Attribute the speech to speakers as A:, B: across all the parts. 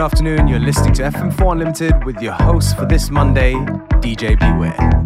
A: afternoon. You're listening to FM4 Unlimited with your host for this Monday, DJ Beware.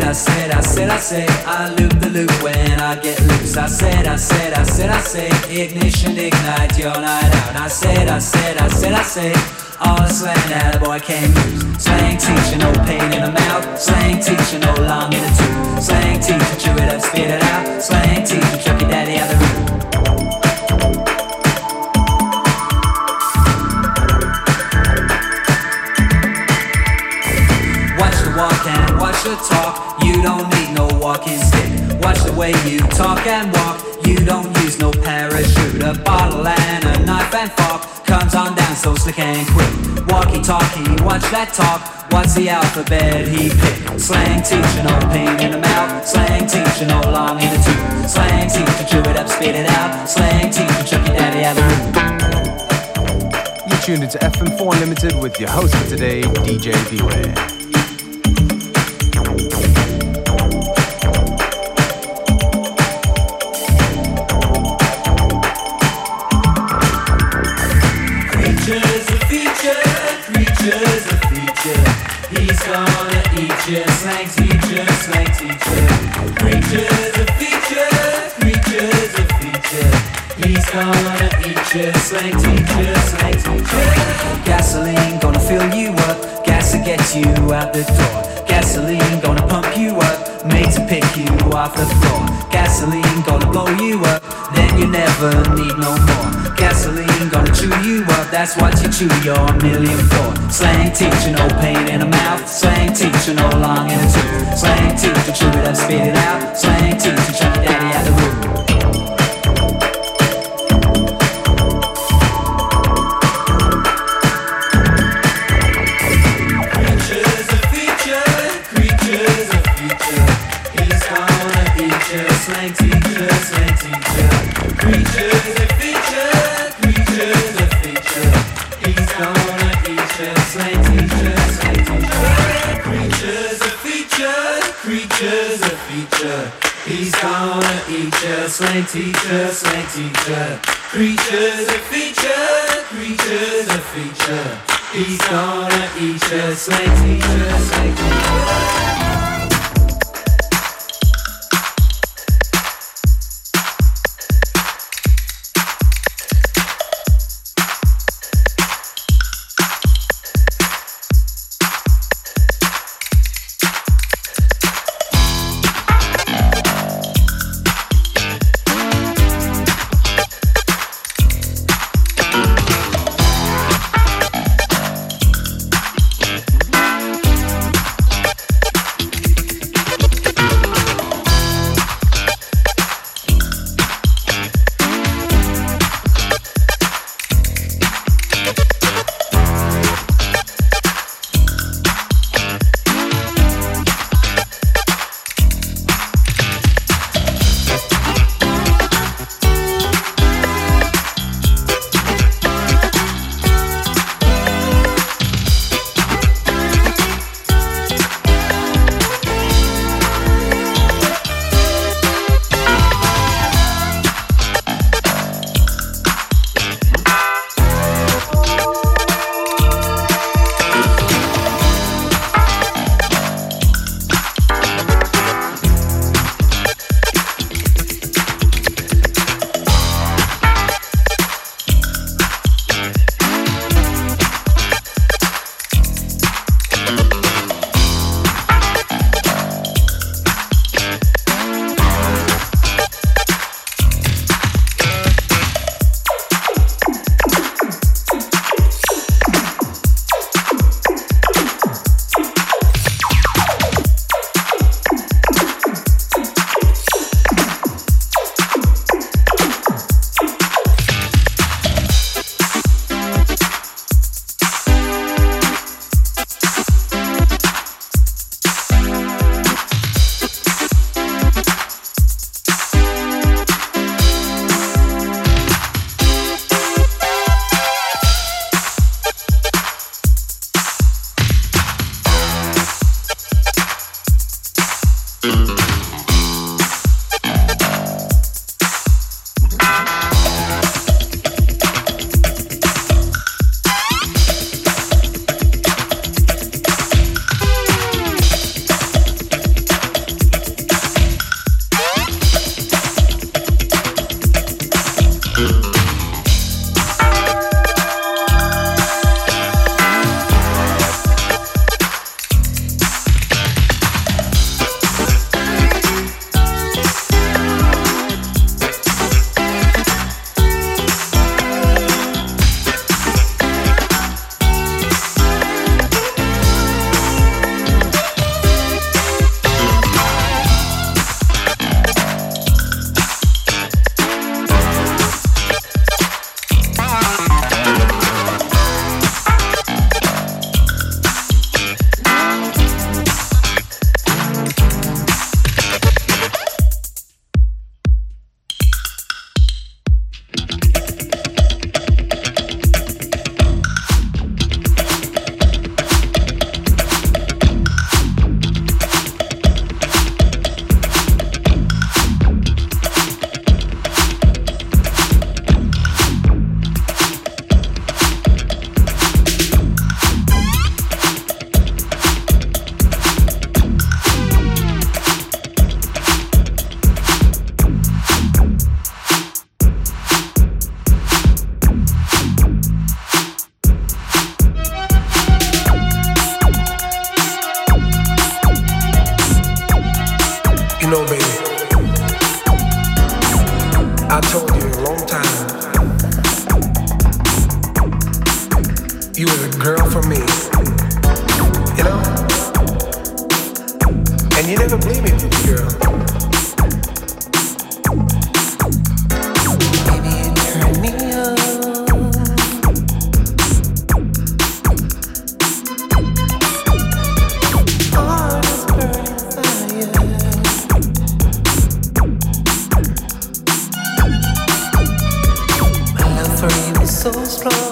B: I loop the loop when I get loose. I said, ignition, ignite your night out. I said, all the slang that a boy can't use. Slang teaching, no pain in the mouth. Slang teaching, no lung in the tooth. Slang teaching, chew it up, spit it out. Slang teaching, chuck your daddy out the room. Watch the walk and watch the talk. You don't need no walking stick. Watch the way you talk and walk. You don't use no parachute. A bottle and a knife and fork comes on down so slick and quick. Walkie-talkie, watch that talk. What's the alphabet he picked? Slang teacher, no pain in the mouth. Slang teacher, no long in the tooth. Slang teacher, chew it up, spit it out. Slang teacher, chuck your daddy out the room.
A: You're tuned into FM4 Unlimited with your host for today, DJ Beware.
B: He's gonna eat you, slang teacher, slang teacher. Creatures a feature, creatures a feature. He's gonna eat you, slang teacher, slang teacher. Gasoline gonna fill you up, gas to get you out the door. Gasoline gonna pump you up, made to pick you off the floor. Gasoline gonna blow you up, then you never need no more. Gasoline gonna chew you up, that's what you chew your million for. Slang teacher, no pain in the mouth. Slang teacher, no long in the tooth. Slang teacher, chew it up, spit it out. Slang teacher, chuck your daddy out the room. Slang teacher, slang teacher. Creatures a feature, creatures a feature. He's gonna eat you, slang teacher, slang teacher. Creatures a feature, creatures a feature. He's gonna eat you, slang teacher, slang teacher. Creatures a feature, creatures a feature. He's gonna eat you, slang teacher, slang teacher.
C: I told you a long time, you were the girl for me, you know? And you never believed me, girl. Baby, you turn me on. Heart is burning fire. My love for you is so strong.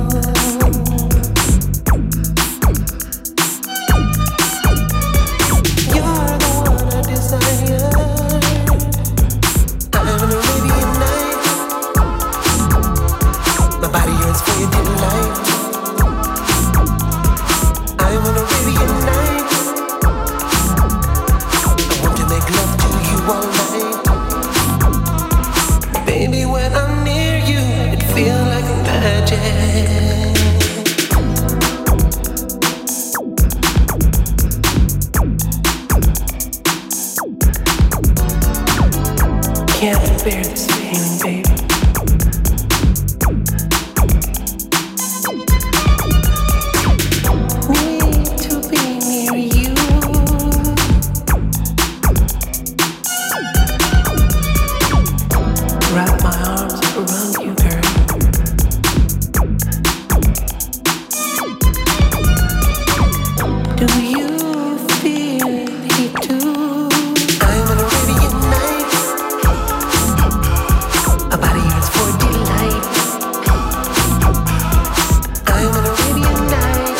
C: Can't bear this feeling, baby. Need to be near you. Wrap my arms around you, girl. Do you feel it too? I'm an Arabian night. A body yearns for delight. I'm an Arabian night.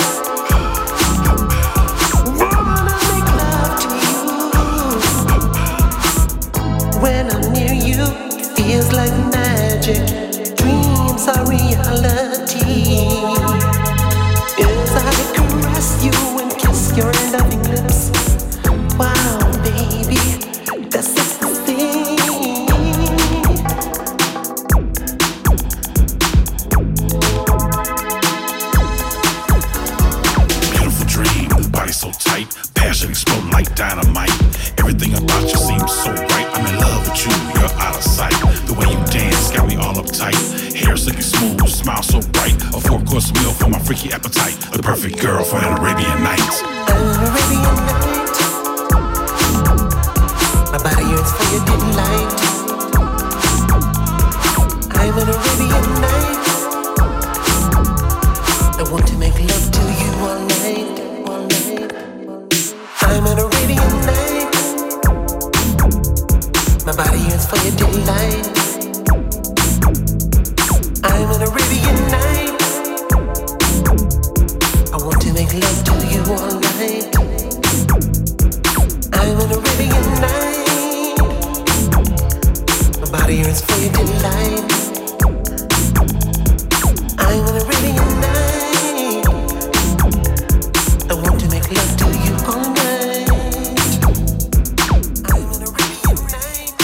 C: Wanna make love to you. When I'm near you, it feels like magic. Dreams are reality. As I caress you and kiss your loving lips. Wow, baby, that's ecstasy.
D: Beautiful dream, body so tight, passion exploding like dynamite. Everything about you seems so right. I'm in love with you, you're out of sight. The way you dance got me all uptight. Hair silky smooth, smile so bright. A 4-course meal for my freaky appetite. The perfect girl for an Arabian night.
C: I'm an Arabian night. My body yearns for your delight. I'm an Arabian night. I want to make love to you all night, all night. I'm an Arabian night. My body yearns for your delight. I'm an Arabian night. I want to make love to you all night. I'm an Arabian night. My body yearns for your delight. I'm an Arabian night. I want to make love to you all night. I'm an Arabian night.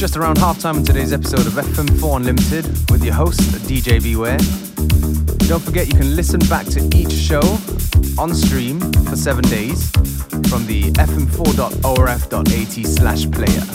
A: just around halftime in today's episode of FM4 Unlimited with your host, DJ Beware. Don't forget you can listen back to each show on stream for 7 days from the fm4.orf.at/player.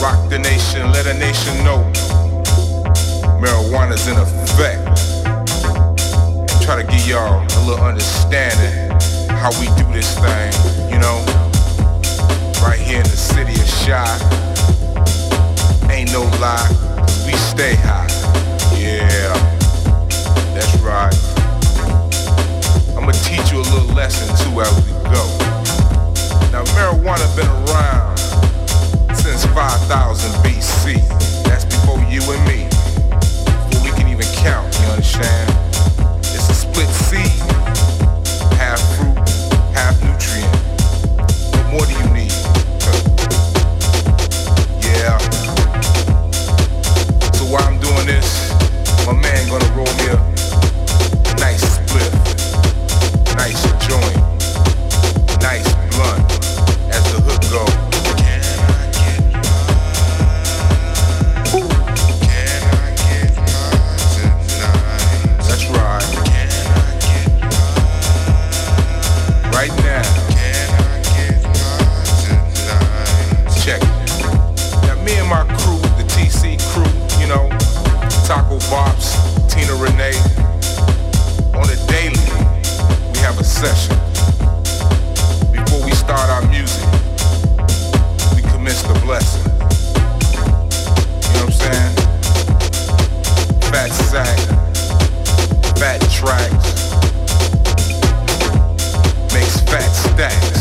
E: Rock the nation, let a nation know marijuana's in effect. And try to give y'all a little understanding how we do this thing, you know. Right here in the city of Chi. Ain't no lie, we stay high. Yeah, that's right. I'ma teach you a little lesson too as we go. Now marijuana been around since 5000 BC. That's before you and me. Before we can even count, you understand? It's a split seed. Half fruit, half nutrient. What more do you need? Yeah. So while I'm doing this, my man gonna roll me a nice split, nice joint, nice blunt as the hook go. That's right. Right now. Check it. Now me and my crew, the TC crew, you know, Taco Bops, Tina Renee, on a daily, we have a session. Before we start our music, we commence the blessing. You know what I'm saying? Fat sack, fat tracks, makes fat stacks.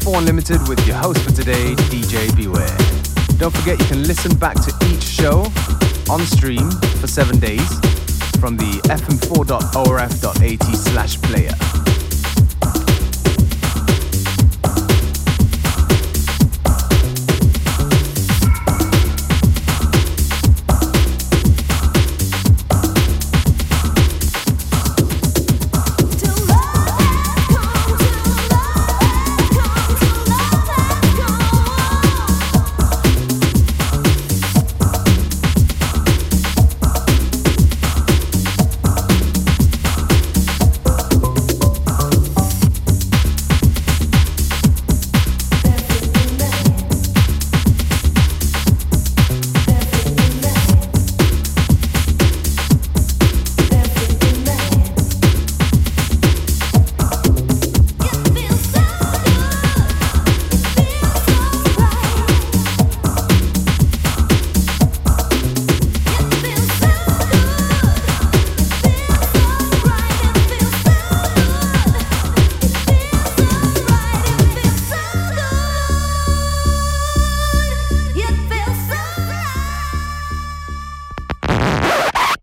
A: FM4 Unlimited with your host for today, DJ Beware. Don't forget you can listen back to each show on stream for 7 days from the fm4.orf.at/player.